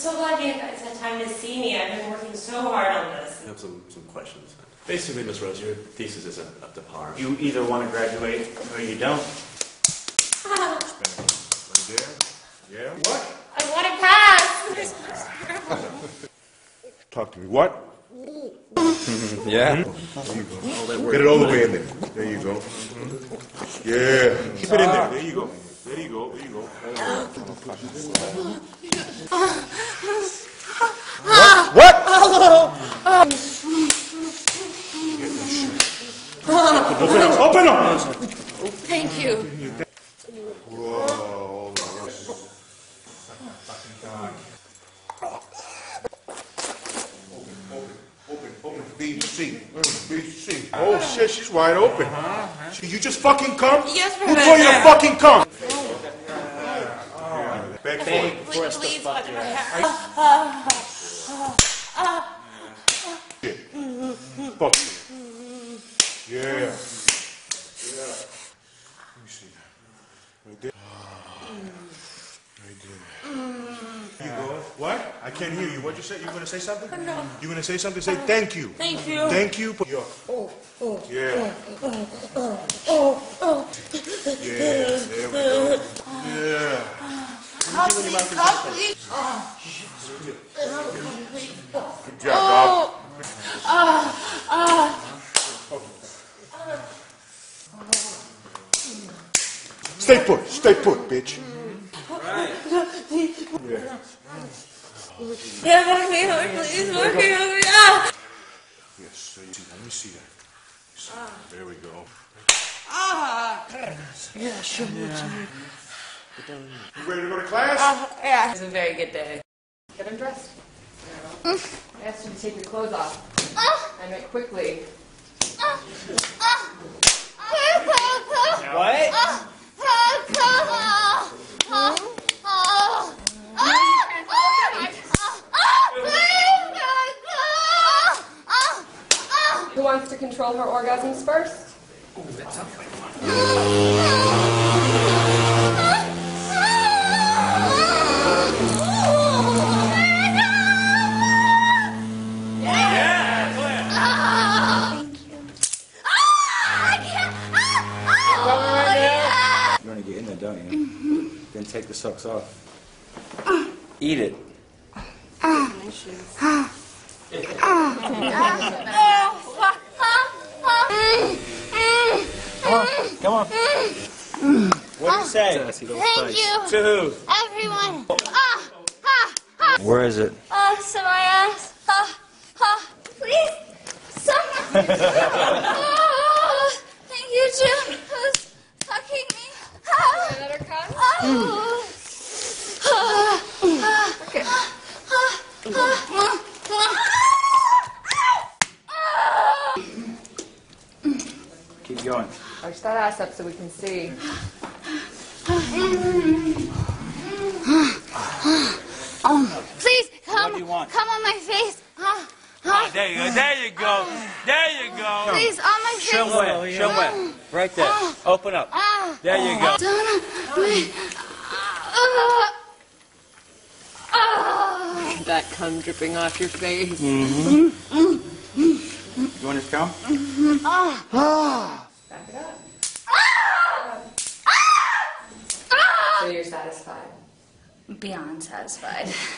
so glad you guys had time to see me. I've been working so hard on this. I have some questions. Basically, Miss Rose, your thesis isn't up to par. You either want to graduate or you don't. Right there. Yeah. What? I want to pass. Talk to me. What? Yeah. There you go. Get it all the way in there. There you go. Yeah. Keep it in there. There you go. There you go. There you go. What? Open up. Thank you. Whoa. Open. BC. Oh shit, she's wide open. You just fucking come? Yes, Who told you to fucking come? Beg for it. For us to fuck you. Shit. Fuck you. Yeah. Let me see. Right there. Right there. You go. What? I can't hear you. What'd you say? You gonna say something? No. You gonna say something? Say thank you. Thank you. Thank you. Yeah. Yeah. There we go. Yeah. Good job, Bob. Stay put, bitch. Yeah. Yeah, walk me over, please. Walk me over. Ah! Yes, so you see, let me see that. There we go. Yeah, sure. You ready to go to class? Yeah. It was a very good day. Get undressed. I asked you to take your clothes off. I meant quickly. What? Who wants to control her orgasms first? You want to get in there, don't you? Then take the socks off. Eat it. Come on. What do you say? Thank you, To who? everyone. Where is it? So my ass. Please, someone. Thank you, Jim, who's fucking me. Another cup? Keep going. Arch that ass up so we can see. Please, What do you want? come on my face. There you go. There you go. There you go. Please, on my face. Show where. Show where. Right there. Open up. There you go. That cum dripping off your face. You want to come? Back it up. So you're satisfied. Beyond satisfied.